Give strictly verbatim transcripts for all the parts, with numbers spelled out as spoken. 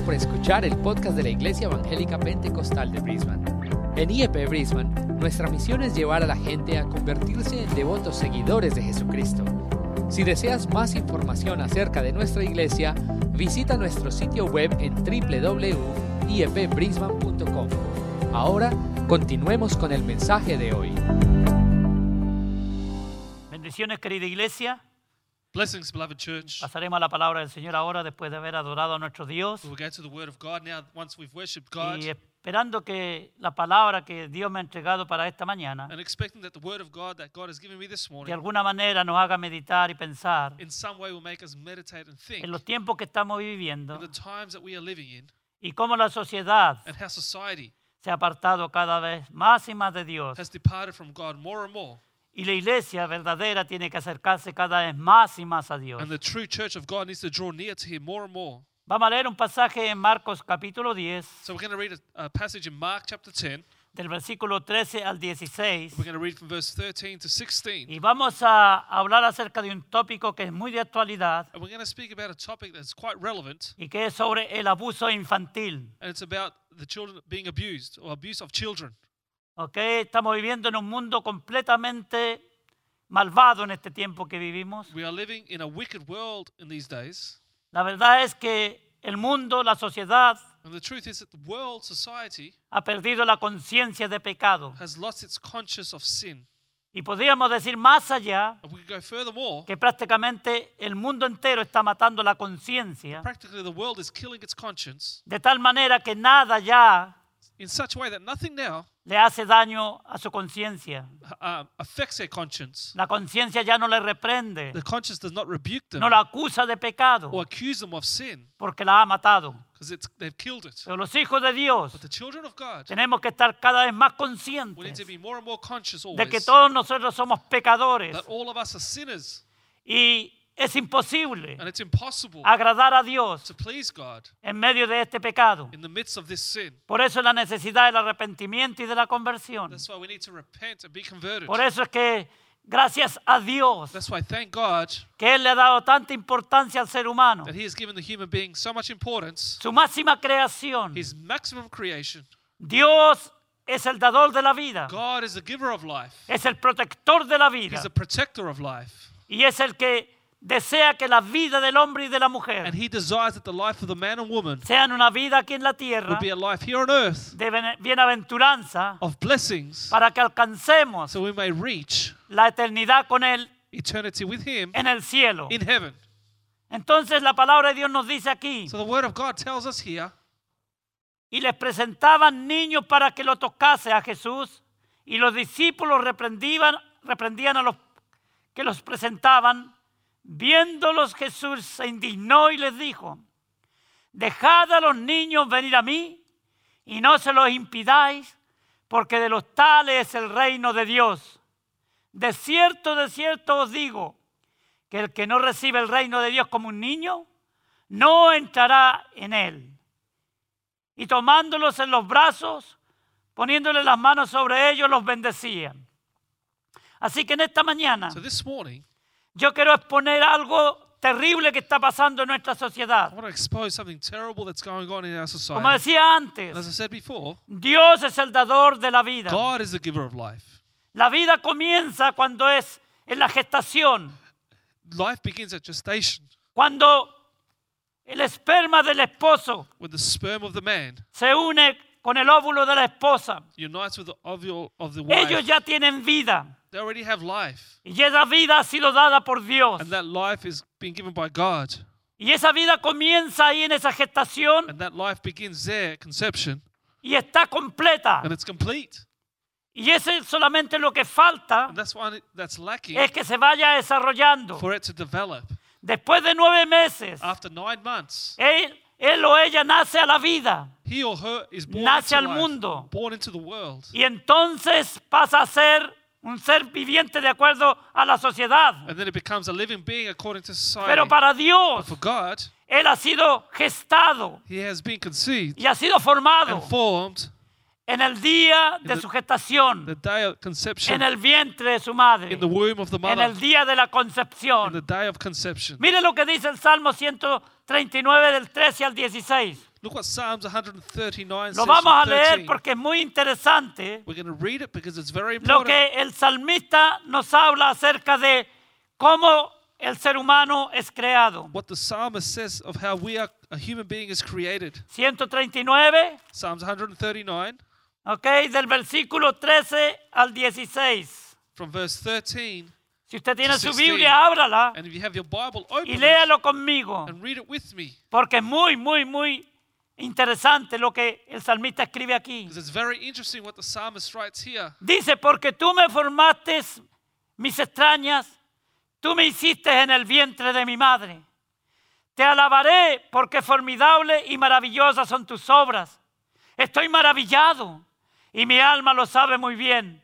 por escuchar el podcast de la Iglesia Evangélica Pentecostal de Brisbane. En I E P Brisbane, nuestra misión es llevar a la gente a convertirse en devotos seguidores de Jesucristo. Si deseas más información acerca de nuestra iglesia, visita nuestro sitio web en doble u doble u doble u punto i e p brisbane punto com. Ahora, continuemos con el mensaje de hoy. Bendiciones, querida iglesia. Blessings, beloved church. Pasaremos a la palabra del Señor ahora después de haber adorado a nuestro Dios We'll go to the Word of God now once we've worshipped God y esperando que la palabra que Dios me ha entregado para esta mañana and expecting that the Word of God that God has given me this de morning alguna manera nos haga meditar y pensar in some way will make us meditate and think en los tiempos que estamos in viviendo the times that we are living in y cómo la sociedad and how society se ha apartado cada vez más y más de Dios. has departed from God more and more. Y la iglesia verdadera tiene que acercarse cada vez más y más a Dios. And the true church of God needs to draw near to Him more and more. Vamos a leer un pasaje en Marcos capítulo diez, So we're going to read a, a passage in Mark chapter ten. del versículo trece al dieciséis. We're going to read from verse thirteen to sixteen. Y vamos a hablar acerca de un tópico que es muy de actualidad And we're going to speak about a topic that's quite relevant. y que es sobre el abuso infantil. And it's about the children being abused or abuse of children. ¿Okay? Estamos viviendo en un mundo completamente malvado en este tiempo que vivimos. We are living in a wicked world in these days. La verdad es que el mundo, la sociedad, And the truth is that the world, society, ha perdido la conciencia de pecado. has lost its conscience of sin. Y podríamos decir más allá And we could go furthermore, que prácticamente el mundo entero está matando la conciencia practically the world is killing its conscience de tal manera que nada ya in such a way that nothing now le hace daño a su conciencia. uh, affects their conscience. La conciencia ya no le reprende, The conscience does not rebuke them no la acusa de pecado or accuse them of sin porque la ha matado. because it's they've killed it. Pero los hijos de Dios But the children of God, tenemos que estar cada vez más we need conscientes to be more and more conscious de que always todos nosotros somos pecadores that all of us are sinners y es imposible and it's impossible agradar a Dios to please God en medio de este pecado. in the midst of this sin. Por eso la necesidad del arrepentimiento y de la conversión. That's why we need to repent and be converted. Por eso es que gracias a Dios That's why thank God que Él le ha dado tanta importancia al ser humano, that He has given the human being so much importance, su máxima creación. His maximum creation. Dios es el dador de la vida, God is the giver of life. es el protector de la vida He's the protector of life. y es el que desea que la vida del hombre y de la mujer And He desires that the life of the man and woman sean una vida aquí en la tierra would be a life here on earth de bene- bienaventuranza of blessings para que alcancemos so we may reach la eternidad con Él eternity with Him en el cielo. in heaven. Entonces la palabra de Dios nos dice aquí: So the Word of God tells us here, y les presentaban niños para que lo tocase a Jesús, y los discípulos reprendían, reprendían a los que los presentaban. Viéndolos, Jesús se indignó y les dijo: dejad a los niños venir a mí y no se los impidáis, porque de los tales es el reino de Dios. De cierto, de cierto os digo, que el que no recibe el reino de Dios como un niño, no entrará en él. Y tomándolos en los brazos, poniéndoles las manos sobre ellos, los bendecían. Así que en esta mañana so this morning, yo quiero exponer algo terrible que está pasando en nuestra I sociedad. want to expose something terrible that's going on in our Como society. decía antes, And as I said before, Dios es el dador de la vida. God is the giver of life. La vida comienza cuando es en la gestación, Life begins at gestation, cuando el esperma del esposo when the sperm of the man se une con el óvulo de la esposa. unites with the ovule of the Ellos wife. ya tienen vida They already have life. y esa vida ha sido dada por Dios. And that life is being given by God. Y esa vida comienza ahí en esa gestación And that life begins there at conception. y está completa. And it's complete. Y eso es solamente lo que falta, And that's why that's lacking es que se vaya desarrollando. for it to develop. Después de nueve meses, After nine months, él, él o ella nace a la vida he or her is born Nace into al life, mundo. born into the world. y entonces pasa a ser un ser viviente de acuerdo a la sociedad. And then it becomes a living being according to society. Pero para Dios, But for God, él ha sido gestado he has been conceived y ha sido formado and formed en el día de the- su gestación, the day of conception, en el vientre de su madre, in the womb of the en mother, el día de la in the concepción. day of conception. Mire lo que dice el Salmo ciento treinta y nueve del trece al dieciséis. Look what Psalms one thirty-nine Lo says. vamos a from leer thirteen. porque es muy interesante We're going to read it because it's very lo important. que el salmista nos habla acerca de cómo el ser humano es creado. What the psalmist says of how we are, a human being is created. ciento treinta y nueve, Psalms one thirty-nine, ok, del versículo trece al dieciséis. from verse thirteen. Si usted tiene to su sixteen. Biblia, ábrala And if you have your Bible, open y it léalo conmigo, and read it with me. porque es muy, muy, muy interesante lo que el salmista escribe aquí. Because it's very interesting what the psalmist writes here. Dice, porque tú me formaste mis extrañas, tú me hiciste en el vientre de mi madre. Te alabaré porque formidable y maravillosas son tus obras. Estoy maravillado y mi alma lo sabe muy bien.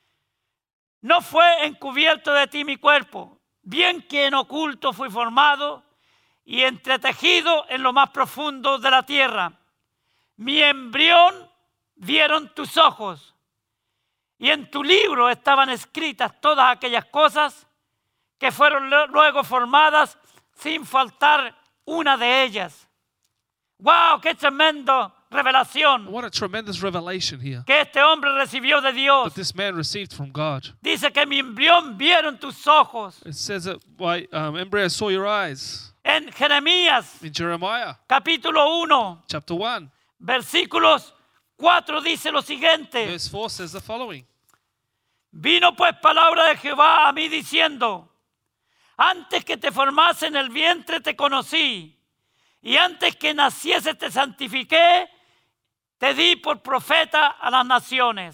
No fue encubierto de ti mi cuerpo, bien que en oculto fui formado y entretejido en lo más profundo de la tierra. Mi embrión vieron tus ojos y en tu libro estaban escritas todas aquellas cosas que fueron luego formadas sin faltar una de ellas. ¡Wow! ¡Qué tremendo revelación What a tremendous revelation here que este hombre recibió de Dios! that this man received from God. Dice que mi embrión vieron tus ojos. It says that by um, embryo saw your eyes. En Jeremías, In Jeremiah capítulo uno, chapter one, versículos cuatro dice lo siguiente. verse four says the following. Vino pues palabra de Jehová a mí diciendo, antes que te formase en el vientre te conocí, y antes que naciese te santifiqué, te di por profeta a las naciones.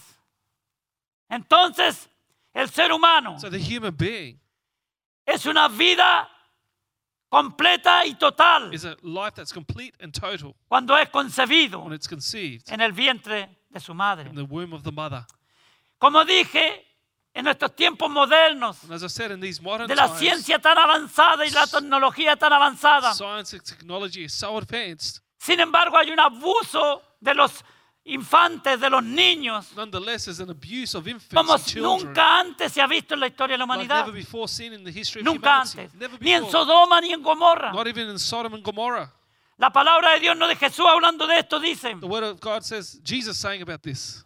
Entonces, el ser humano So the human being es una vida completa y total is a life that's complete and total cuando es concebido when it's conceived en el vientre de su madre. in the womb of the mother. Como dije, en nuestros tiempos modernos, And as I said, in these modern de la times, ciencia tan avanzada y la tecnología tan avanzada, science and technology is so advanced. sin embargo hay un abuso de los infantes, de los niños, Nonetheless, there's an abuse of infants como and children nunca antes se ha visto en la historia de la like humanidad. never before seen in the history of Nunca humanity. antes. Never Ni en before. Sodoma ni en Gomorra. Not even in Sodom and Gomorrah. La palabra de Dios, no de Jesús hablando de esto, dice, The word of God says, Jesus saying about this.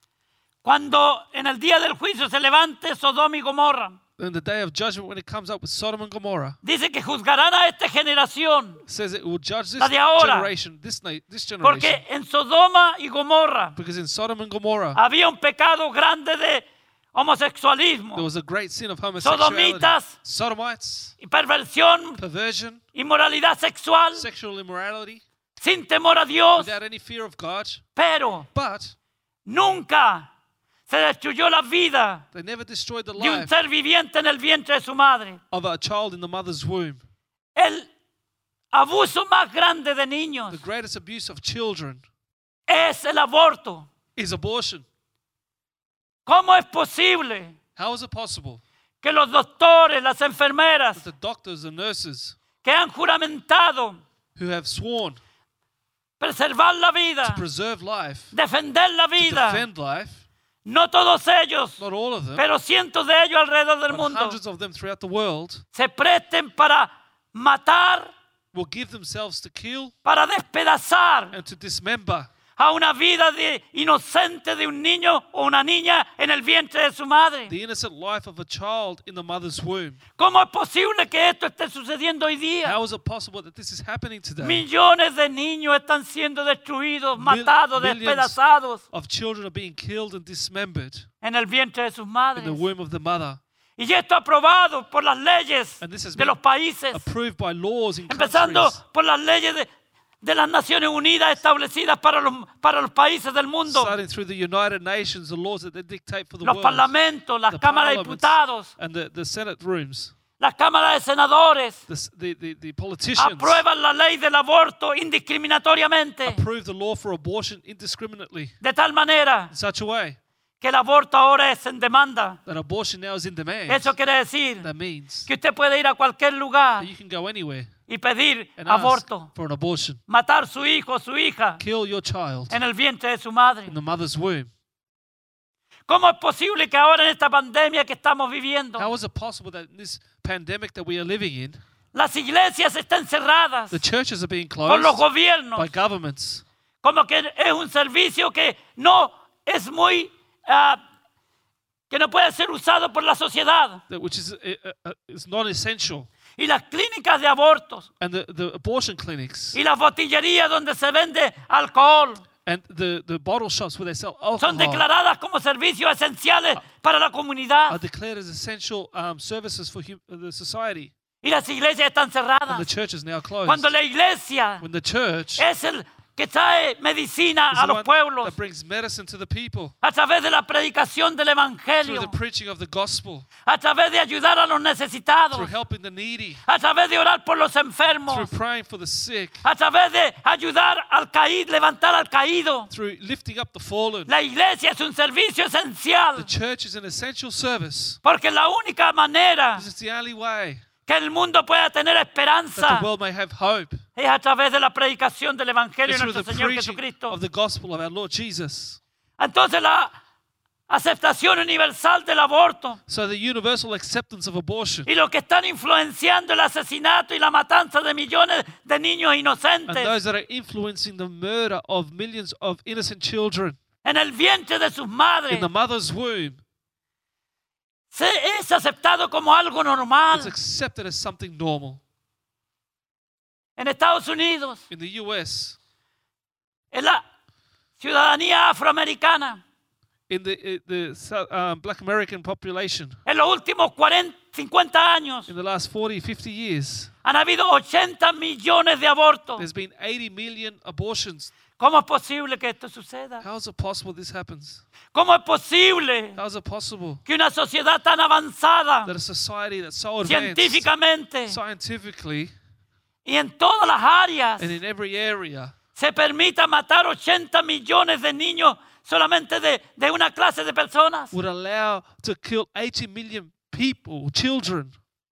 cuando en el día del juicio se levante Sodoma y Gomorra, In the day of judgment, when it comes up with Sodom and Gomorrah, dice que juzgarán a esta generación, it says it will judge this La de ahora. generation, this, na- this generation. porque en Sodoma y Gomorra Because in Sodom and Gomorrah, había un pecado grande de homosexualismo there was a great sin of homosexuality. Sodomitas. Sodomites, y perversión, perversion, inmoralidad sexual, sexual immorality, sin temor a Dios, without any fear of God. pero But nunca se destruyó la vida they never destroyed the de un life ser viviente en el vientre de su madre. of a child in the mother's womb. El abuso más grande de The niños greatest abuse of children es el aborto. is abortion. ¿Cómo es posible How is it possible que los doctores, las enfermeras that the doctors and nurses que han juramentado who have sworn preservar la to vida, preserve life, defender la to vida, defend life, no todos ellos, not all of them, pero cientos de ellos alrededor del but mundo, hundreds of them throughout the world, se presten para matar, will give themselves to kill para despedazar and to dismember a una vida de inocente de un niño o una niña en el vientre de su madre. the innocent life of a child in the mother's womb. ¿Cómo es posible que esto esté sucediendo hoy día? How is it possible that this is happening today? Millones de niños están siendo destruidos, matados, millions despedazados Of children are being killed and dismembered en el vientre de sus in madres. the womb of the mother. Y esto aprobado por las leyes And this has de been los países, approved by laws in empezando countries, por las leyes de, de las Naciones Unidas establecidas para los, para los países del mundo, starting through the United Nations, the laws that they dictate for the los world, parlamentos, las the cámaras de parliaments, diputados, and the, the Senate rooms, las cámaras de senadores, the, s- the, the, the politicians aprueban la ley del aborto indiscriminatoriamente, approve the law for abortion indiscriminately de tal manera in such a way que el aborto ahora es en demanda. that abortion now is in demand. Eso quiere decir That means que usted puede ir a cualquier lugar that you can go anywhere y pedir and ask aborto, for an abortion. matar su hijo o su hija Kill your child en el vientre de su madre. in the mother's womb. ¿Cómo es posible que ahora en esta pandemia que estamos viviendo, How is it possible that in this pandemic that we are living in, las iglesias están cerradas The churches are being por los closed gobiernos, by governments. como que es un servicio que no es muy, ah, que no puede ser usado por la sociedad. that- Which is, uh, uh, is non-essential. Y las clínicas de abortos And the, the abortion clinics y las botillerías donde se vende alcohol and the, the bottle shops where they sell son alcohol declaradas como servicios esenciales para la are comunidad. declared as essential um, services for hum- the society. Y las iglesias están And the cerradas. church is now closed. Cuando la iglesia When the church es el que trae medicina is a the los one pueblos that brings medicine to the people a través de la predicación del through evangelio, the preaching of the gospel, a través de ayudar a los necesitados, through helping the needy, a través de orar por los through enfermos, praying for the sick, a través de ayudar al caído, levantar al caído. through lifting up the fallen. La iglesia es un servicio The esencial, church is an essential service. porque la única manera This is the only way que el mundo pueda tener that esperanza the world may have hope, es a través de la predicación del evangelio is de through the nuestro Señor preaching Jesucristo. of the gospel of our Lord Jesus. Entonces la aceptación universal del aborto So the universal acceptance of abortion y lo que están influenciando el asesinato y la matanza de millones de niños and inocentes those that are influencing the murder of millions of innocent children en el vientre de sus in madres the mother's womb se es aceptado como algo normal. is accepted as something normal. En Estados Unidos, In the U S, en la ciudadanía afroamericana, in the, uh, the Sou- um, black American population, en los últimos cuarenta, cincuenta años, in the last forty, fifty years, han habido ochenta millones de abortos. there's been eighty million abortions. ¿Cómo es posible que esto suceda? How is it possible this happens? ¿Cómo es posible How is it possible que una sociedad tan avanzada that a society that's so advanced científicamente scientifically y en todas las áreas and in every area se permita matar ochenta millones de niños solamente de, de una clase de personas? would allow to kill eighty million people, children?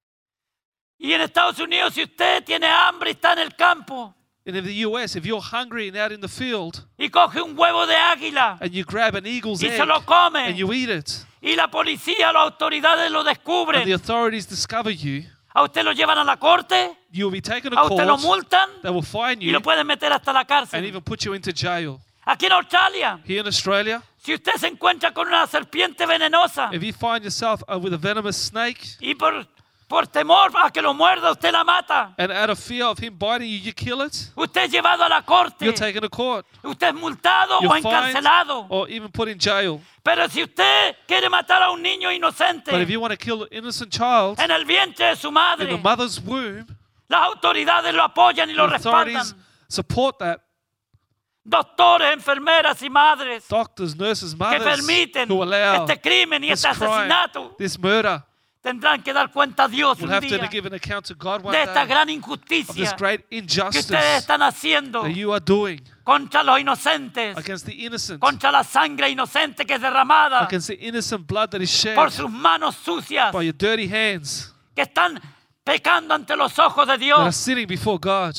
Y en Estados Unidos, si usted tiene hambre y está en el campo And in the U S, if you're hungry and out in the field y coge un huevo de águila and you grab an eagle's y egg se lo come and you eat it, y la policía, las autoridades lo and the descubren, authorities discover you, a usted lo llevan a la corte, you will be taken to a usted lo court, multan they will fine y you lo pueden meter hasta la and cárcel. even put you into jail. Aquí en Australia, Here in Australia, si usted se encuentra con una serpiente venenosa if you find yourself uh, with a venomous snake y por, por temor a que lo muerda, usted la mata, and out of fear of him biting you, you kill it, usted es llevado a la corte, you're taken to court, usted es multado o you're fined encarcelado. or even put in jail. Pero si usted quiere matar a un niño inocente But if you want to kill an innocent child en el vientre de su in madre, the mother's womb, las autoridades lo apoyan y lo the authorities respaldan. support that. Doctores, enfermeras y madres Doctors, nurses, que mothers permiten who allow este crimen y this este crime, asesinato this murder, tendrán que dar cuenta a Dios will un have to día give an account to God one de esta day gran of this injusticia great que injustice ustedes están haciendo that you are doing contra los inocentes, against the innocent, contra la sangre inocente que es derramada against the innocent blood that is shed por sus manos sucias by your dirty hands que están pecando ante los ojos de that are Dios. sinning before God.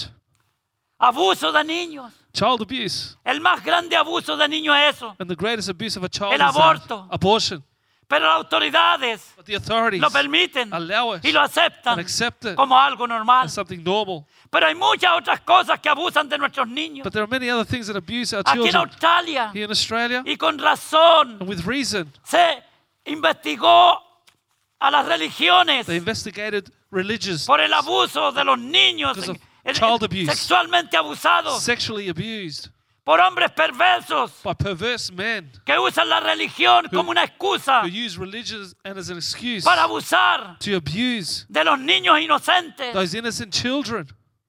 Abuso de niños. Child abuse. El más grande abuso de niños es eso. And the greatest abuse of a child El is that, aborto. abortion. Pero las autoridades But the authorities lo permiten allow it y lo aceptan and accept it como algo normal. as something normal. Pero hay muchas otras cosas que abusan de nuestros niños. But there are many other things that abuse our Aquí en children. Australia, Here in Australia, y con razón, and with reason, se investigó a las religiones they investigated religious, por el abuso de los niños Because of en- child en- abuse. sexualmente abusados sexually abused por hombres perversos by perverse men que usan la religión como una excusa who use religion and as an excuse para abusar to abuse de los niños inocentes. those innocent children.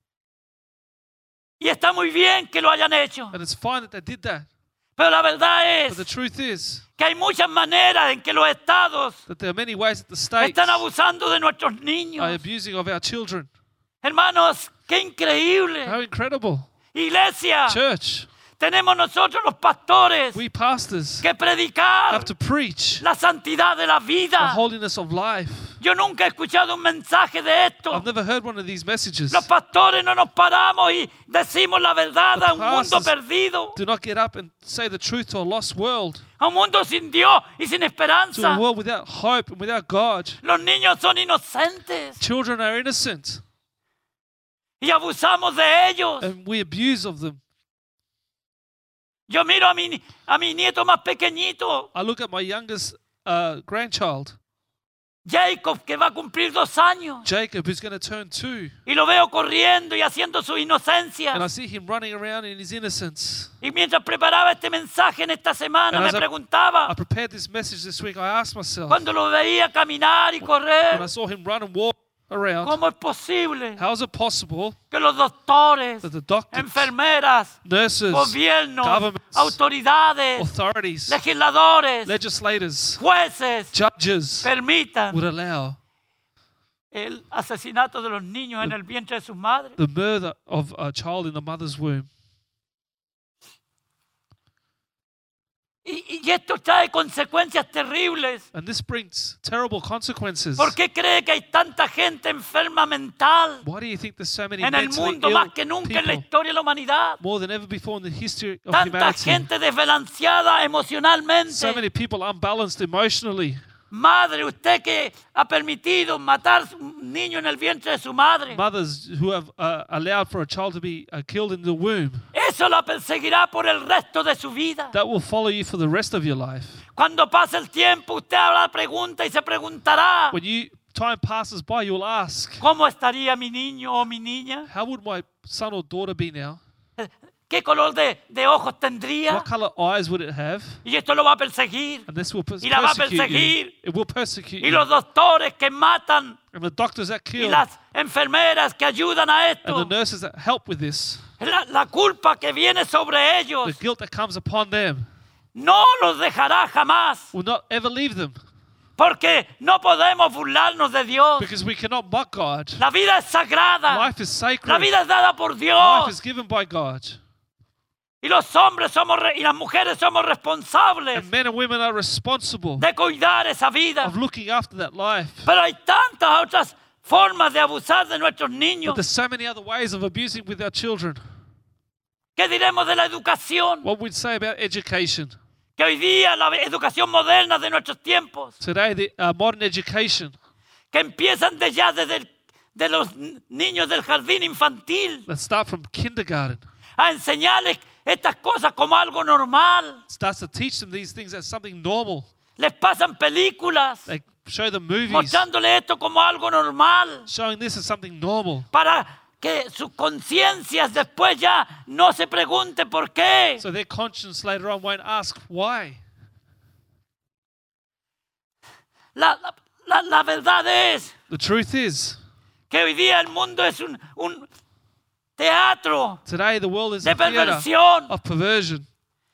Y está muy bien que lo hayan hecho. And it's fine that they did that. Pero la verdad But the es truth is que hay muchas maneras en que los estados that there are many ways that the states están abusando de nuestros are niños. abusing of our children. Hermanos, qué increíble. How incredible. Iglesia, Church, tenemos nosotros los pastores we pastors que predicar have to preach la santidad de la the vida. holiness of life. Yo nunca he escuchado un mensaje de esto. I've never heard one of these messages. Los pastores no nos paramos y decimos la verdad The a un mundo pastors perdido, Do not get up and say the truth to a lost world, a un mundo sin Dios y sin to a esperanza. world without hope and without God. Los niños son inocentes. Children are innocent. y abusamos de ellos. and we abuse of them. Yo miro a mi, a mi nieto más pequeñito, I look at my youngest uh, grandchild, Jacob, que va a cumplir dos años, Jacob, who's going to turn two, y lo veo corriendo y haciendo su and I inocencia. see him running around in his innocence. Y mientras preparaba este mensaje en esta semana, And me as I- preguntaba, I prepared this message this week. I asked myself, cuando lo veía caminar y when I correr, saw him run and walk around, ¿cómo es posible how is it possible que los doctores, that the doctors, enfermeras, nurses, gobiernos, governments, autoridades, authorities, legisladores, legislators, jueces judges permitan would allow el asesinato de los niños en el vientre de sus madres? the murder of a child in the mother's womb? Y, y esto trae consecuencias terribles. And this brings terrible consequences. ¿Por qué cree que hay tanta gente enferma mental Why do you think there's so many en el mentally mundo ill más que nunca en la people, historia de la humanidad? more than ever before in the history of Tanta humanity? gente desbalanceada So emocionalmente. many people unbalanced emotionally. Madre, usted que ha permitido matar un niño en el vientre de su madre, Mothers who have uh, allowed for a child to be uh, killed in the womb. eso la perseguirá por el resto de su vida. That will follow you for the rest of your life. Cuando pase el tiempo, usted habrá pregunta y se preguntará, When you time passes by, you'll ask, ¿cómo estaría mi niño o mi niña? how would my son or daughter be now? ¿Qué color de, de ojos tendría? What color eyes would it have? Y esto lo va a perseguir. And this will pers- Y la va a persecute you. perseguir. It will persecute Y you. los doctores que matan And the doctors that y kill las enfermeras que ayudan a and the esto, nurses that help with this, la, la culpa que viene sobre the ellos guilt that comes upon them, no los dejará jamás. will not ever leave them. Porque no podemos burlarnos de Dios. Because we cannot mock God. La vida es sagrada. Life is sacred. La vida es dada por Life Dios. is given by God. Y los hombres somos re- y las mujeres somos responsables And men and women are responsible de cuidar esa vida. of looking after that life. Pero hay tantas otras formas de abusar de nuestros But niños. there's so many other ways of abusing with our children. ¿Qué diremos de la educación? What we'd say about education. Que hoy día la educación moderna de nuestros tiempos, Today, the uh, modern education que empiezan de ya desde el- de los n- niños del jardín infantil that start from kindergarten a enseñarles estas cosas como algo normal. starts to teach them these things as something normal. Les pasan películas They show them movies mostrándole esto como algo normal showing this as something normal, para que sus conciencias después ya no se pregunte por qué. so their conscience later on won't ask why. La, la- la- la verdad es The truth is, que hoy día el mundo es un, un teatro today the world is de a theater perversión. of perversion.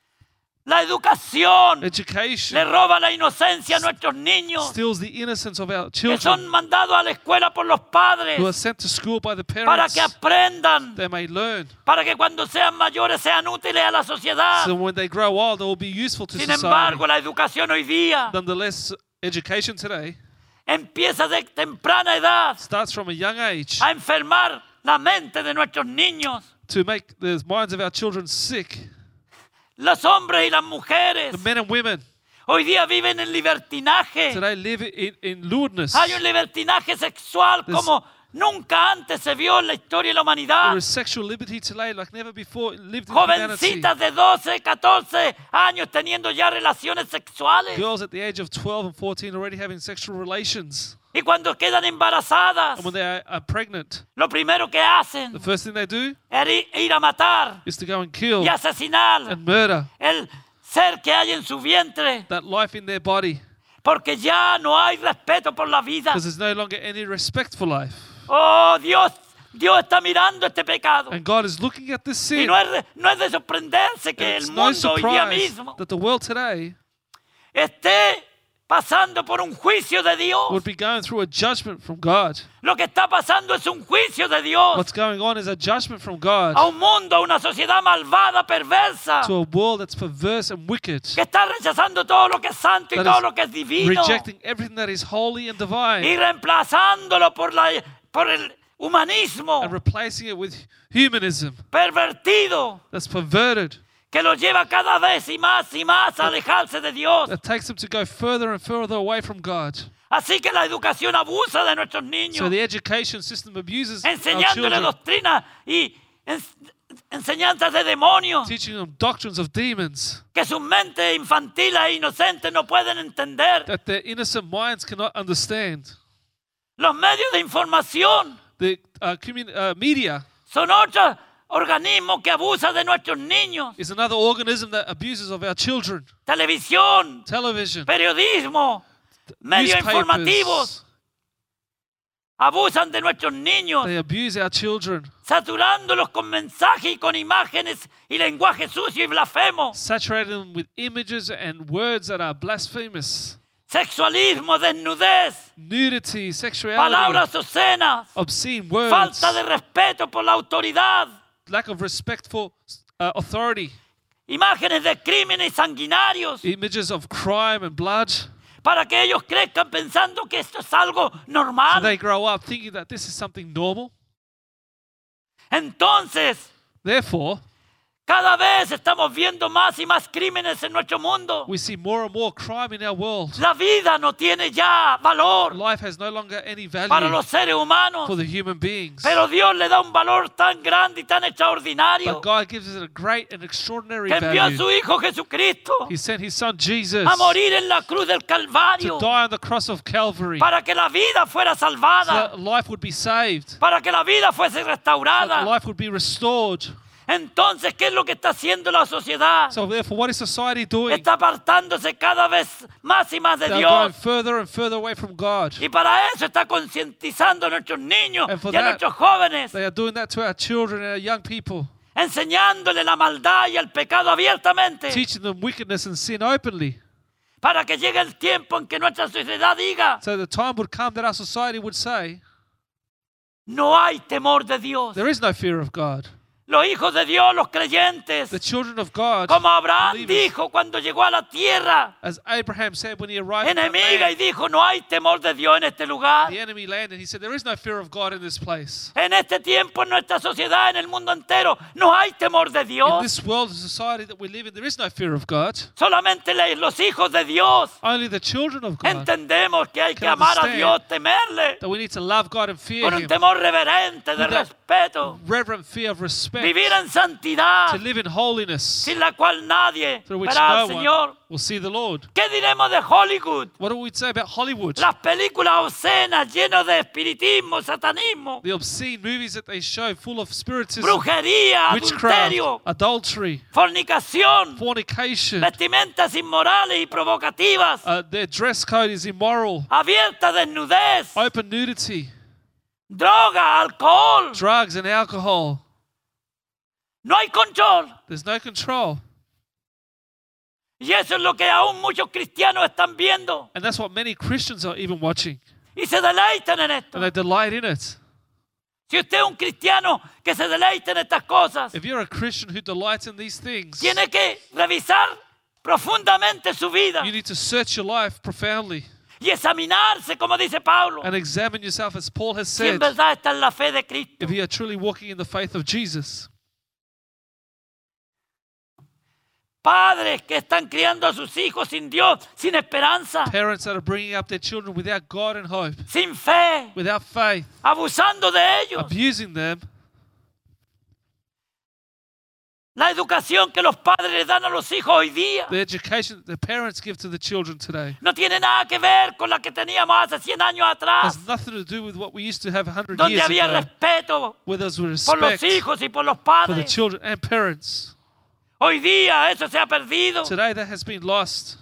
La educación le Education roba la inocencia a nuestros niños steals the innocence of our que children son mandados a la escuela por los padres who are sent to school by the para parents. que aprendan, They may learn, para que cuando sean mayores sean útiles a la sociedad. so when they grow old, they will be useful to Sin society. embargo, la educación hoy día Nonetheless, education today empieza de temprana edad starts from a young age a enfermar la mente de nuestros niños. to make the minds of our children sick. Los hombres y las mujeres The men and women hoy día viven en libertinaje. today live in, in lewdness. Hay un libertinaje sexual There's- como nunca antes se vio en la historia de la humanidad. There is sexual liberty today like never before lived in humanity. Jovencitas de doce, catorce años teniendo ya relaciones sexuales. Girls at the age of twelve and fourteen already having sexual relations. Y cuando quedan embarazadas, And when they are, are pregnant, lo primero que hacen the first thing they do es ir- ir a matar is to go and kill y asesinar and murder el ser que hay en su vientre. that life in their body, Porque ya no hay respeto por la vida. because there's no longer any respect for life. Oh, Dios, Dios está mirando este pecado. And God is looking at this Y sin. no es, de- no es de sorprenderse que And el it's no mundo hoy día surprise mismo that the world today esté pasando por un juicio de Dios. would be going through a judgment from God. Lo que está pasando es un juicio de Dios What's going on is a judgment from a God un mundo, a una sociedad malvada, perversa, to a world that's perverse and wicked, que está rechazando todo lo que es santo y That todo is lo que es divino rejecting everything that is holy and y divine reemplazándolo por, la, por el humanismo and replacing it with humanism pervertido that's perverted, que lo lleva cada vez y más y más a alejarse de Dios, that takes them to go further and further away from God, Así que la educación abusa de nuestros niños, So the education system abuses our enseñándole children, doctrinas y ens- enseñanzas de demonios teaching them doctrines of demons que sus mentes infantiles e inocentes no pueden entender. that their innocent minds cannot understand. Los medios de información The uh, commun- uh, media son otros organismos que abusan de nuestros niños. is another organism that abuses of our children. Televisión, Television, periodismo, medios informativos newspapers, abusan de nuestros niños, they abuse our children, saturándolos con mensajes y con imágenes y lenguaje sucio y blasfemo. saturating them with images and words that are blasphemous. Sexualismo, desnudez, Nudity, sexuality, palabras obscenas, obscene words, falta de respeto por la autoridad, lack of respect for uh, authority, imágenes de crímenes sanguinarios, images of crime and blood. para que ellos crezcan pensando que esto es algo So normal. they grow up thinking that this is something normal. Entonces, Therefore, cada vez estamos viendo más y más crímenes en nuestro mundo. we see more and more crime in our world. La vida no tiene ya valor Life has no longer any para value los seres humanos, for the human beings. pero Dios le da un valor tan grande y tan extraordinario But God gives it a great and extraordinary que envió a value. su Hijo Jesucristo He sent His Son Jesus a morir en la cruz del to Calvario die on the cross of Calvary para que la vida fuera so salvada, that life would be saved, para que la vida fuese so that restaurada. life would be restored. Entonces, ¿qué es lo que está haciendo la sociedad? So therefore, what is society doing? Está apartándose cada vez más y más de They're going Dios. further and further away from God. Y para eso está concientizando a nuestros niños And for y a that, nuestros jóvenes, They are doing that to our children and our young people, enseñándole la maldad y el pecado abiertamente, teaching them wickedness and sin openly. para que llegue el tiempo en que nuestra sociedad diga, So the time would come that our society would say, no hay temor de Dios. there is no fear of God. Los hijos de Dios, los creyentes, The children of God, como Abraham believers, dijo cuando llegó a la tierra as Abraham said when he arrived in that enemiga y land, dijo, no hay temor de Dios en este lugar. the enemy landed, he said, there is no fear of God in this place. En este tiempo, en nuestra sociedad, en el mundo entero, no hay temor de In Dios. this world and society that we live in, there is no fear of God. Solamente le- los hijos de Dios Only the children of God, entendemos que hay que can amar a understand Dios, temerle, that we need to love God and fear con un Him, temor reverente de With that respeto, reverent fear of respect, vivir en to santidad, live in holiness, sin la cual nadie through which verá al no Señor. one will see the Lord. ¿Qué diremos de Hollywood? What do we say about Hollywood? Las películas obscenas llenas de espiritismo, satanismo, The obscene movies that they show full of spiritism, brujería, witchcraft, adulterio, adultery, fornicación, fornication. vestimentas inmorales y provocativas, Uh, their dress code is immoral, abierta desnudez, open nudity, droga, alcohol. drugs and alcohol. No hay control. There's no control. Y eso es lo que aún muchos cristianos están viendo And that's what many Christians are even watching. y se deleitan en esto. And they delight in it. Si usted es un cristiano que se deleita en estas cosas, If you're a Christian who delights in these things, tiene que revisar profundamente su vida you need to search your life profoundly y examinarse, como dice Pablo, and examine yourself, as Paul has si en said, verdad está en la fe de Cristo. if you are truly walking in the faith of Jesus. Padres que están criando a sus hijos sin Dios, sin esperanza, Parents that are bringing up their children without God and hope, sin fe, without faith, abusando de ellos. abusing them. La educación que los padres le dan a los hijos hoy día The education that the parents give to the children today no tiene nada que ver con la que teníamos hace cien años atrás, has nothing to do with what we used to have one hundred donde years había ago, respeto where there was por los respect hijos y por los for the padres. children and parents. Hoy día eso se ha perdido. Today that has been lost.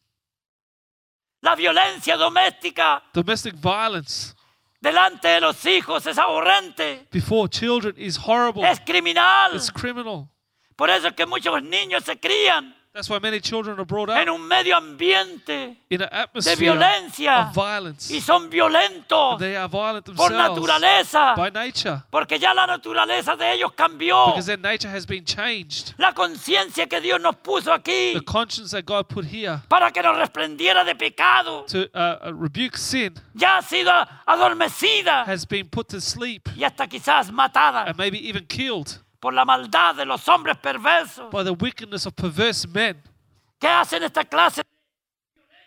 La violencia doméstica Domestic violence delante de los hijos es aborrente, before children is horrible. es criminal. It's criminal. Por eso es que muchos niños se crían That's why many children are brought en up un medio ambiente in an de atmosphere violencia of violence. y son violentos They are violent por themselves naturaleza, by nature porque ya la naturaleza de ellos cambió. because their nature has been changed. La conciencia que Dios nos puso aquí The conscience that God put here para que nos reprendiera de pecado to uh, uh, rebuke sin ya ha sido adormecida has been put to sleep y hasta quizás matada and maybe even killed por la maldad de los hombres perversos by the wickedness of perverse men que hacen esta clase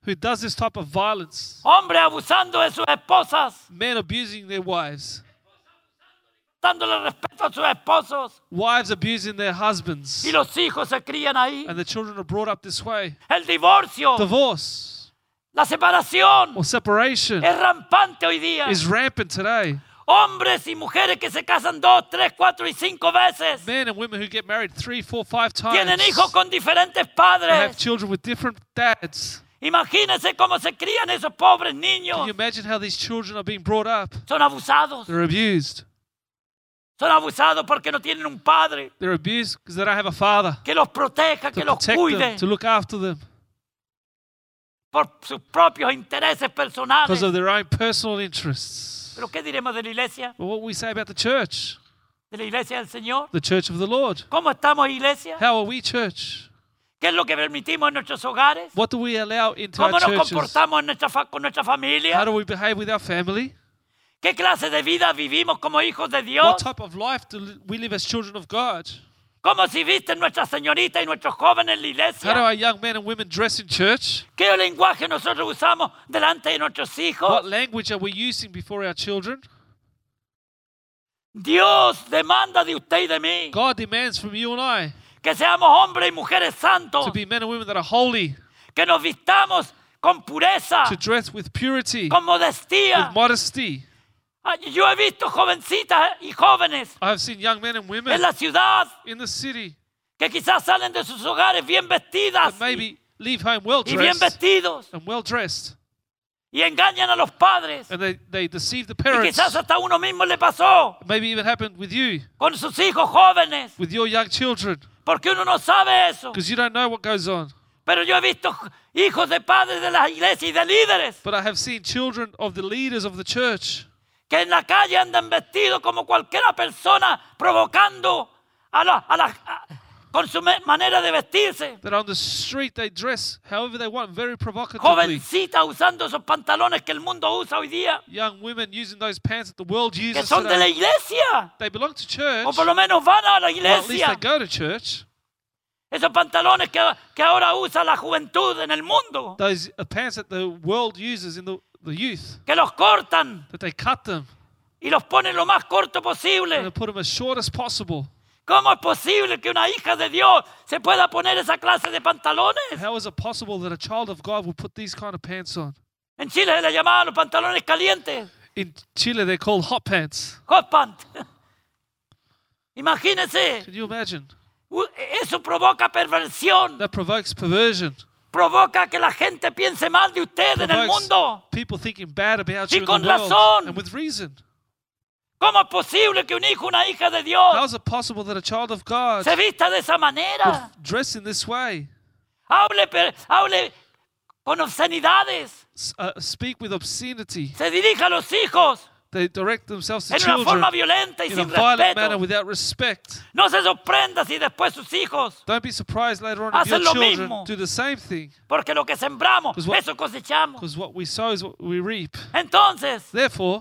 who does this type of violence. Hombres abusando de sus esposas, Men abusing their wives. dándole respeto a sus esposos. Wives abusing their husbands. Y los hijos se crían ahí. And the children are brought up this way. El divorcio, Divorce la separación or separation es rampante hoy día. is rampant today. Hombres y mujeres que se casan dos, tres, cuatro y cinco veces. Men and women who get married three, four, five times. Tienen hijos con diferentes They have padres. children with different dads. Imagínense cómo se crían esos pobres Can niños. you imagine how these children are being brought up? Son abusados. They're abused. Son abusados porque no tienen un padre They're abused because they don't have a father que los proteja, que to los protect cuide them, to look after them por sus propios intereses personales. because of their own personal interests. ¿Pero qué diremos de la iglesia? But what we say about the church, ¿De la iglesia del Señor? the church of the Lord. ¿Cómo estamos, iglesia? How are we church? ¿Qué es lo que permitimos en nuestros hogares? What do we allow into our ¿Cómo nos churches? comportamos en nuestra fa- con nuestra How familia? do we behave with our family? ¿Qué clase de vida vivimos como hijos de What Dios? type of life do li- we live as children of God? ¿Cómo si visten nuestras señoritas y nuestros jóvenes en la How do iglesia? our young men and women dress in church? ¿Qué lenguaje nosotros usamos delante de nuestros hijos? What language are we using before our children? Dios demanda de usted y de mí God demands from you and I que seamos hombres y mujeres santos, to be men and women that are holy, que nos vistamos con pureza, to dress with purity, con modestia. with modesty. Ay, Yo he visto jovencitas y jóvenes I have seen young men and en women la ciudad in the city que quizás salen de sus hogares bien vestidas that maybe leave home well y bien dressed vestidos and well dressed, y engañan a los padres. and they, they deceive the Y parents. quizás hasta a uno mismo le pasó Maybe even happened with you, con sus hijos jóvenes, with your young children, porque uno no sabe eso. because you don't know what goes on. Pero yo he visto hijos de padres de las iglesias y de líderes But I have seen children of the leaders of the church que en la calle andan vestidos como cualquier persona, provocando a la, a la, a- con su me- manera de vestirse. that on the street they dress however they want, very provocatively. Jovencitas usando esos pantalones que el mundo usa hoy día, Young women using those pants that the world que uses son de la today. iglesia, They belong to church, o por lo menos van a la or at least they iglesia. go to church. Esos pantalones que, que ahora usa la juventud en el mundo, Those are pants that the world uses in the, the youth, que los cortan that they cut them y los ponen lo más corto and they posible. put them as short as possible. ¿Cómo es posible que una hija de Dios se pueda poner esa clase de pantalones? How is it possible that a child of God will put these kind of pants on? En Chile se le llamaban los pantalones calientes, In Chile, they're called hot pants. hot pant. Imagínense, Can you imagine? u- eso provoca perversión, That provokes perversion. provoca que la gente piense mal de usted en el Provokes mundo. people thinking bad about Y you in con the world, razón. and with reason. ¿Cómo es posible que un hijo, una hija de Dios How is it possible that a child of God se vista de esa would manera? dress in this way, Hable, per- hable con obscenidades, s- uh, speak with obscenity? se dirija a los hijos They direct themselves to en una children forma violenta y in a sin violent manner respeto. without respect. No se sorprenda si después sus hijos, Don't be surprised later on if Hacen your lo children mismo. do the same thing, porque lo que sembramos, Pues what- eso cosechamos. because what we sow is what we reap. Entonces, Therefore,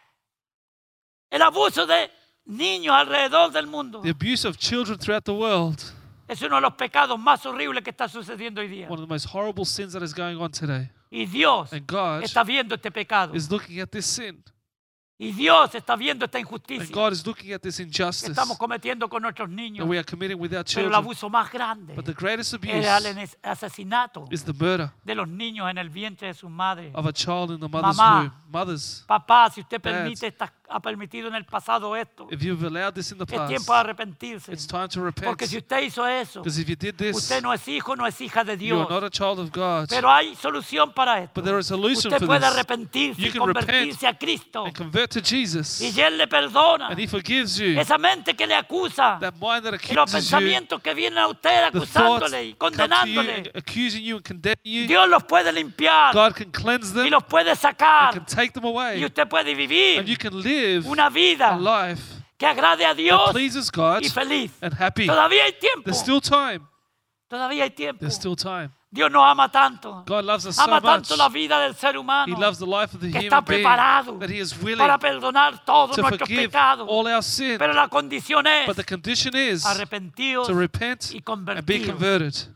el abuso de niños alrededor del mundo the abuse of children throughout the world, es uno de los pecados más horribles que está sucediendo hoy día. one of the most horrible sins that is going on today. Y Dios And God está viendo este pecado. is looking at this sin. Y Dios está viendo esta And injusticia God is looking at this que injustice estamos cometiendo con nuestros that niños. we are committing with our Pero el children. abuso más grande But the greatest abuse era el enes- asesinato is the murder de los niños en el vientre de sus madres. of a child in the mother's Mamá. womb. Mothers, Papá, si usted Dads. permite, esta- ha permitido en el pasado esto, if you've allowed this in the es past, tiempo de arrepentirse. it's time to repent. Porque si usted hizo eso, Because if you did this, usted no es hijo, no es hija de you are Dios. not a child of God. Pero hay solución para esto. But there is a solution Usted for puede this. arrepentirse You y can repent convertirse a Cristo. And convert to Jesus. Y Él le perdona. And He forgives you. Esa mente que le acusa. That mind that Y los accuses you, pensamientos que vienen a usted the thoughts acusándole y come to you and condenándole. accusing you and condemning you, Dios los puede limpiar God can cleanse y them los puede and sacar. can take them Y away. usted puede And vivir you can live una vida a life que agrade a that Dios pleases God y feliz. and happy. Todavía hay tiempo. There's still time. Todavía hay tiempo. There's still time. Dios nos ama tanto. God loves us so Ama much. tanto la vida del ser humano He loves the life of the que human está being preparado that He is willing para perdonar todos to nuestros forgive pecados. all our sin. Pero la condición es But the condition is arrepentidos to repent y and be convertidos. converted.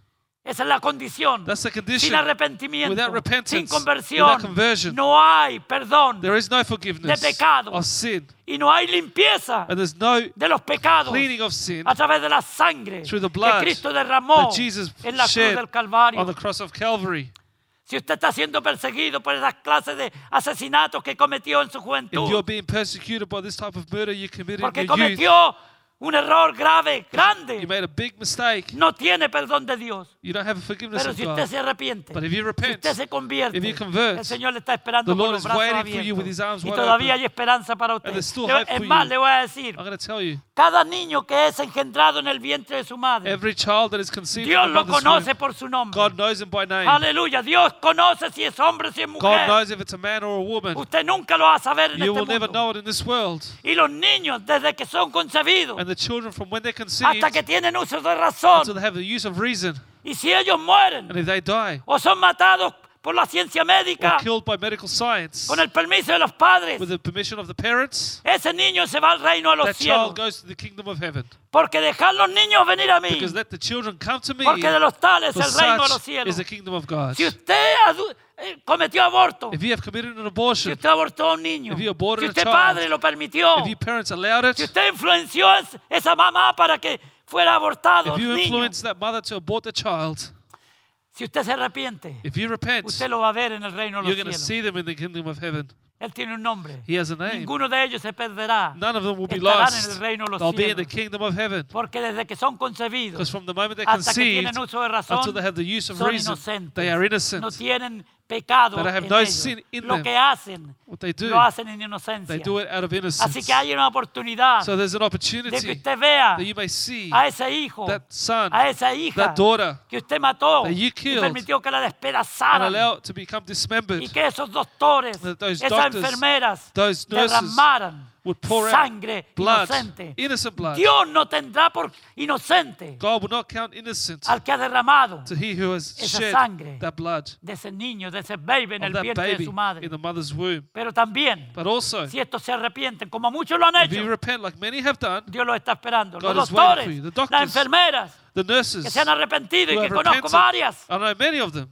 Esa es la condición. That's the Sin condition. arrepentimiento, Without repentance, sin conversión, without conversion, no hay perdón there is no forgiveness de pecado. of sin. y no hay limpieza And there's no de los pecados cleaning of sin a través de la sangre through the que blood Cristo derramó that Jesus en la cruz shed del Calvario. on the cross of Calvary. Si usted está siendo perseguido por esas clases de asesinatos que cometió en su If you're juventud, being persecuted by this type of murder you committed porque in your youth, cometió un error grave, you grande, made a big mistake. no tiene perdón de Dios. You don't have a forgiveness Pero of si usted God. se arrepiente, But if you si repent, usted se convierte, if you convert, el Señor le está esperando the con Lord los is brazos waiting for you with his abiertos. arms Y wide todavía open. hay esperanza para usted. And there's still Le- hope Es for más, you. le voy a decir, I'm going to tell you, cada niño que es engendrado en el vientre de su madre, every child that is conceived Dios in the lo mother's conoce womb, por su nombre. God knows him by name. Aleluya. Dios conoce si es hombre, si es God mujer. knows if it's a man or a woman. Usted nunca lo va a saber en You este will never mundo. know it in this world. Y los niños, desde que son concebidos And the children from when they're conceived hasta que tienen uso de razón, until they have the use of reason, y si ellos mueren and if they die o son matados por la ciencia or médica, killed by medical science, con el permiso de los padres, with the permission of the parents, ese niño se va al reino de los that cielos. child goes to the kingdom of heaven. Porque dejar los niños venir a mí, Because let the children come to me, porque de los tales for el reino de los such cielos. is the kingdom of God. Si usted adu- eh, cometió aborto, If you have committed an si abortion, usted abortó a un niño, If you aborted si a usted child, padre lo permitió, if your parents allowed si it, usted influenció es- esa mamá para que fuera abortado if you el niño, influence that mother to abort the child, si usted se arrepiente, if you repent, usted lo va a ver en el reino de you're los going to cielos. see them in the kingdom of heaven. Él tiene un nombre. He has a name. Ninguno de ellos se perderá. None of them will be Estarán en el lost. reino de los They'll be in the cielos. kingdom of heaven. Porque desde que son concebidos Because from the moment they're hasta que conceived tienen uso de until razón, they have the use of son reason, inocentes. they are innocent. No tienen pecado They have en no ellos. sin in Lo them. que hacen, What they do, lo hacen en inocencia. they do it out of Así innocence. que hay una oportunidad So there's an de que opportunity usted vea that you may see a ese hijo, that son, a esa hija that daughter, que usted mató that you y killed permitió que la and despedazaran allow it to become dismembered. y que esos doctores, That those esas doctors, enfermeras those nurses derramaran would pour out sangre blood, inocente. innocent blood. Dios no tendrá por inocente God will not count innocent al que ha derramado to he who has esa shed sangre that blood de ese niño, de ese baby en of el that vientre de baby su madre. in the mother's womb. Pero también, But also, si estos se arrepienten, como muchos lo han if you hecho, repent like many have done, Dios los está esperando. God Los is waiting for doctores, you. The las doctors, enfermeras the que nurses se han arrepentido y who que have conozco repented, varias, I know many of them.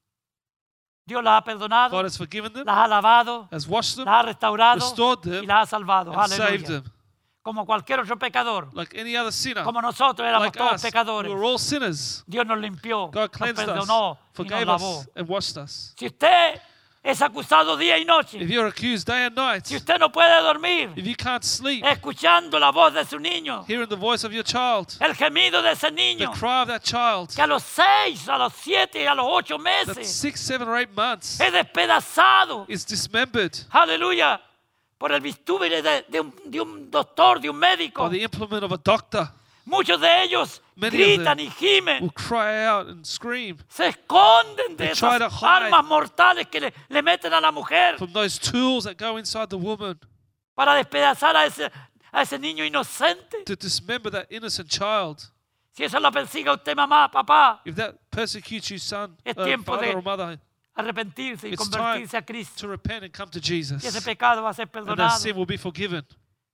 Dios las ha perdonado, God has forgiven them, las ha lavado, has washed them, las ha restaurado restored them, y las ha salvado. and saved Aleluya. them. Como cualquier otro pecador, Like any other sinner, como nosotros éramos like todos us, pecadores, we were all sinners. Dios nos limpió, God nos cleansed us, perdonó y nos forgave lavó. us, and washed us. Si usted es acusado día y noche, If you're accused day and night, si usted no puede dormir, if you can't sleep, escuchando la voz de su niño, hearing the voice of your child, el gemido de ese the niño, cry of that child, que a los seis, a los siete y a los ocho that meses six, seven, or eight months es despedazado, is dismembered aleluya, por el bistúbile de, de un, de un doctor, de un médico. by the implement of a doctor, Muchos de ellos Many of gritan them y gimen, will cry out and scream se esconden de They try esas to hide armas mortales que le, le meten a la mujer from those tools that go inside the woman para despedazar a ese, a ese niño inocente. to dismember that innocent child. Si eso lo persigue a usted, mamá, papá, If that persecutes you, son, Es uh, tiempo father de- or mother, arrepentirse y It's convertirse a Cristo. to repent and come to Y ese Jesus. pecado va a ser And that perdonado. sin will be forgiven.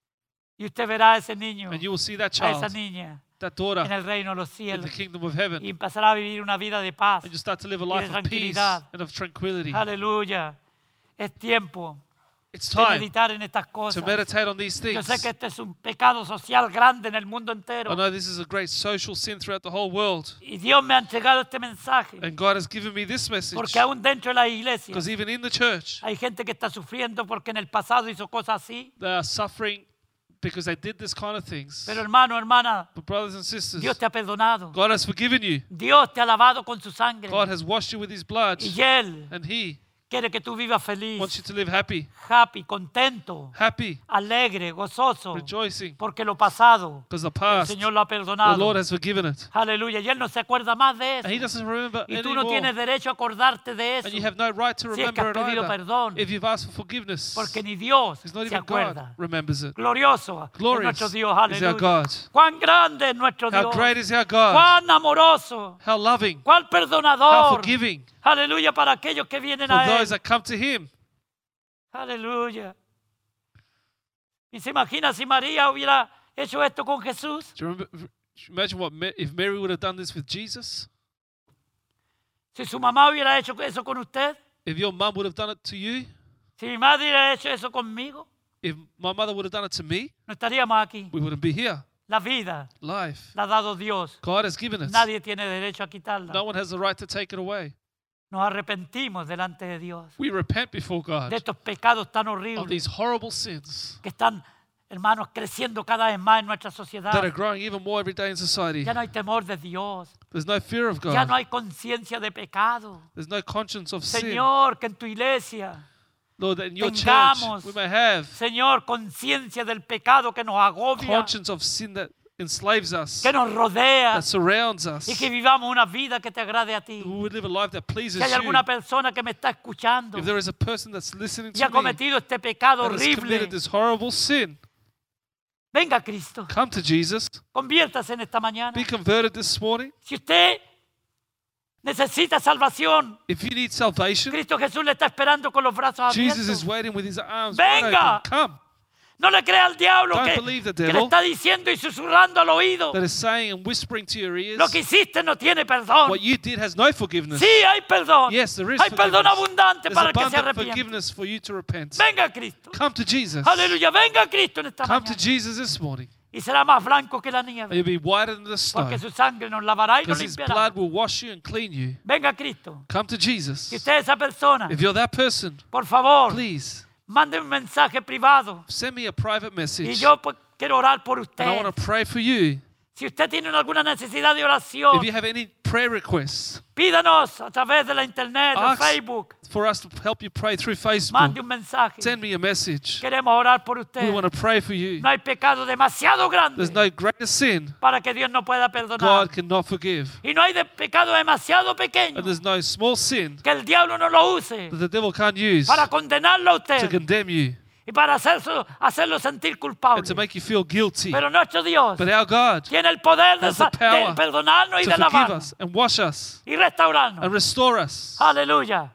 Y usted verá a ese niño, And you will see that a esa child, niña, that en daughter, el reino de los in cielos. the kingdom of heaven. Y empezará a vivir una vida de paz. And you start to live a de life of peace tranquilidad. and of tranquility. Aleluya. Es tiempo It's de time meditar en estas to cosas. meditate on these Yo things. sé que este es un pecado social grande en el mundo entero. I know this is a great social sin throughout the whole world. Y Dios me ha entregado este mensaje. And God has given me this message. Porque aún dentro de la iglesia Because even in the church, hay gente que está sufriendo porque en el pasado hizo cosas así. they are suffering because they did this kind of things. Pero hermano, hermana, But brothers and sisters, Dios te ha perdonado. God has forgiven you. Dios te ha lavado con su sangre. God has washed you with his blood. Y Él And he quiere que tú vivas feliz, wants you to live happy, happy, contento, happy, alegre, gozoso. rejoicing. Porque lo pasado, Because the el past, Señor lo ha the perdonado. Lord has forgiven it. Aleluya. Y Él no se acuerda más de And he eso. doesn't remember Y tú no anymore. tienes derecho a acordarte de eso. And you have no right to Si es que remember has it pedido either. perdón. If you've asked for forgiveness, Porque ni Dios it's not se even God acuerda. remembers it. Glorioso es Glorious nuestro Dios. is our Aleluya. God. Cuán grande es nuestro How Dios. great is our God. Cuán amoroso. How loving. Cuán How perdonador. forgiving Aleluya para aquellos que vienen for a Él. those that come to him. Aleluya. Y se imagina si María hubiera hecho esto con Jesús. Do you remember, imagine what Ma- if Mary would have done this with Jesus? Si su mamá hubiera hecho eso con usted, If your mum would have done it to you, si mi madre hubiera hecho eso conmigo, if my mother would have done it to me, no estaríamos aquí. we wouldn't be here. La vida Life. la ha dado Dios. God has given us. Nadie tiene derecho a quitarla. No one has the right to take it away. Nos arrepentimos delante de Dios We repent before God de estos pecados tan of horribles these horrible sins que están, hermanos, creciendo cada vez más en nuestra sociedad. that are growing even more every day in society. Ya no hay temor de Dios. There's no fear of Ya no God. hay conciencia de pecado. There's no conscience of sin. Señor, que en tu iglesia, Lord, that in your church tengamos, we may have Señor, conciencia del pecado que nos agobia, conscience of sin that enslaves us, que nos rodea, that surrounds us. y que vivamos una vida que te agrade a ti. We would live a life that pleases Si hay you. alguna persona que me está escuchando If there is a person that's listening y ha to me cometido este pecado that has horrible, committed this horrible sin, venga a Cristo. come to Jesus. Conviértase en esta mañana. Be converted this morning. Si usted necesita salvación, If you need salvation, Cristo Jesús le está esperando con los brazos Jesus is abiertos. waiting with his arms wide Venga. open. Come. No le crea al diablo Don't que, believe the que le devil. está diciendo y susurrando al oído. That is saying and whispering to your ears, Lo que hiciste no tiene perdón. what you did has no forgiveness. Sí, hay perdón. Yes, there is Hay perdón forgiveness. abundante There's para el que se abundant arrepiente. forgiveness for you to repent. Venga a Cristo. Come to Jesus. Aleluya, venga a Cristo en esta Come to mañana. Jesus this morning. Y será más blanco que la And nieve. you'll be whiter than the snow. Porque su sangre nos lavará y nos Because his limpiará. blood will wash you and clean you. Venga a Cristo. Come to Jesus. Si usted es esa persona, If you're that person, por favor, please mande un mensaje privado. send me a private Y message. yo pues, quiero orar por And I usted. want to pray for you. Si usted tiene alguna necesidad de oración, If you have any prayer requests, pídanos a través de la internet, de ask Facebook. for us to help you pray through Mande Facebook. un mensaje. Send me a message. Queremos orar por usted. We want to pray for you. No hay pecado demasiado grande There's no greater sin para que Dios no pueda perdonar. God cannot forgive. Y no hay de pecado demasiado pequeño And there's no small sin que el diablo no lo use that the devil can't use para condenarlo a to usted condemn you y para hacerlo, hacerlo sentir and culpable. to make you feel guilty. Pero nuestro Dios But our God tiene el poder de, has the sa- de power perdonarnos y to de forgive lavarnos us and wash us y restaurarnos. and restore us Aleluya.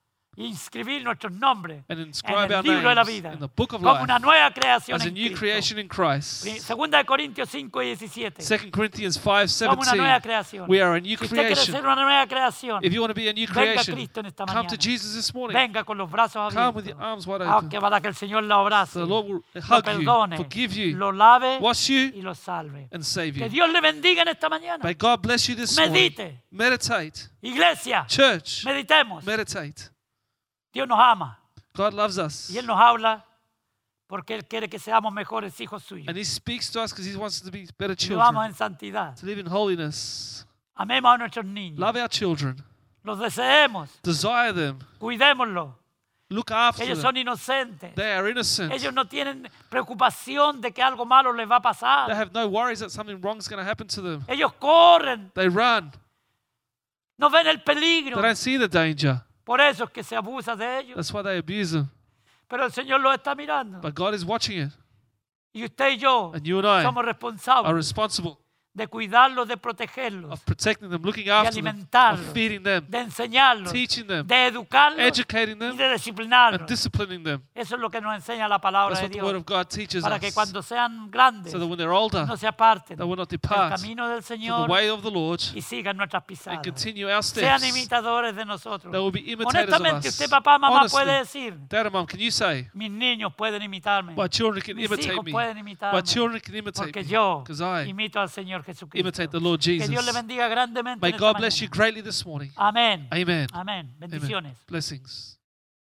Y inscribir nuestros nombres and en inscribe el our libro de la names vida in the book of como life una nueva creación as a en new Cristo. creation in Christ. Segunda de Corintios cinco y diecisiete. Second Corinthians five Somos una nueva seventeen. creación. We are a new Si usted quiere ser creation. una nueva creación, If you want to be a new venga a creation, Cristo en esta come mañana. to Jesus this morning. Venga con los brazos Come with your abiertos. arms wide Aunque open. para que el Señor la abrace, The Lord will lo hug you, perdone, forgive you, lo lave wash y you, lo salve. and save Que you. Dios le bendiga en esta mañana. May God bless you this morning. Medite. Meditate. Iglesia, Church, meditemos. meditate. Dios nos ama God loves us. y Él nos habla porque Él quiere que seamos mejores hijos suyos. And He speaks to us because He wants us to be better Y vivamos children, en santidad. to live in holiness. Amemos a nuestros niños. Love our children. Los deseemos. Desire them. Cuidémoslos. Look after Ellos them. son inocentes. They are innocent. Ellos no tienen preocupación de que algo malo les va a They pasar. have no worries that something wrong is going to happen to them. Ellos corren, They run. no ven el They peligro. don't see the danger. Por eso es que se abusa de ellos. That's why they abuse them. Pero el Señor los está mirando. But God is watching it. Y usted y yo And you and I somos are responsables responsible de cuidarlos, de protegerlos, of protecting them, looking de after them, of alimentarlos, feeding them, de enseñarlos, teaching them, de educarlos educating y them, de and disciplinarlos. disciplining them. Eso es lo que nos enseña la palabra That's de what the Word Dios. of God teaches Para que us. cuando sean grandes So that when they're older, no se aparten they will not del depart camino del from the Señor way of the Lord y sigan nuestras and pisadas. continue our Sean steps. imitadores de nosotros. They will be imitators of Honestamente, us. usted, papá, mamá, Honestly, puede decir, Dad and Mom, can you say, mis niños pueden imitarme. my children can Mis imitate hijos me. pueden My imitarme. children can imitate Porque me. yo Because I imito al Señor Jesucristo. imitate the Lord Que Dios le Jesus. bendiga grandemente May en esta God bless you mañana. greatly this morning. Amén. Amen. Amén. Amen. Bendiciones. Blessings.